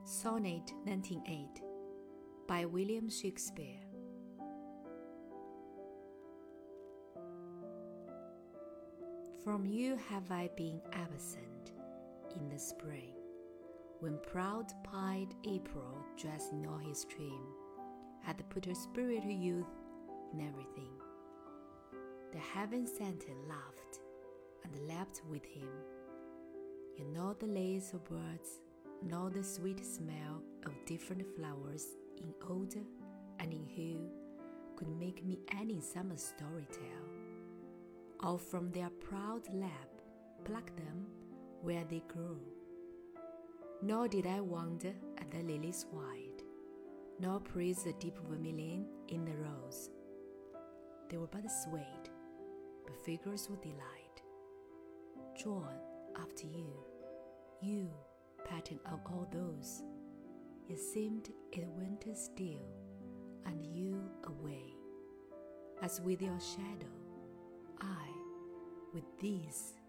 Sonnet 19:8 by William Shakespeare. From you have I been absent in the spring, when proud-pied April, dressed in all his trim, had put her spirit of youth in everything. The heaven-sent laughed and leapt with him. You know the lays of birds, know the sweet smell of different flowers in odor and in hue, could make me any summer story tell. All from their proud lap pluck them where they grew. Nor did I wonder at the lilies white, nor praise the deep vermilion in the rose. They were but swayed, but figures would delight, drawn after you, you, pattern of all those. It seemed it winter still, and you away, as with your shadow, I with these